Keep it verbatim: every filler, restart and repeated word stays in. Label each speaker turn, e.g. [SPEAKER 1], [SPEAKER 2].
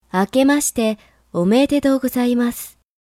[SPEAKER 1] 明けましておめでとうございます。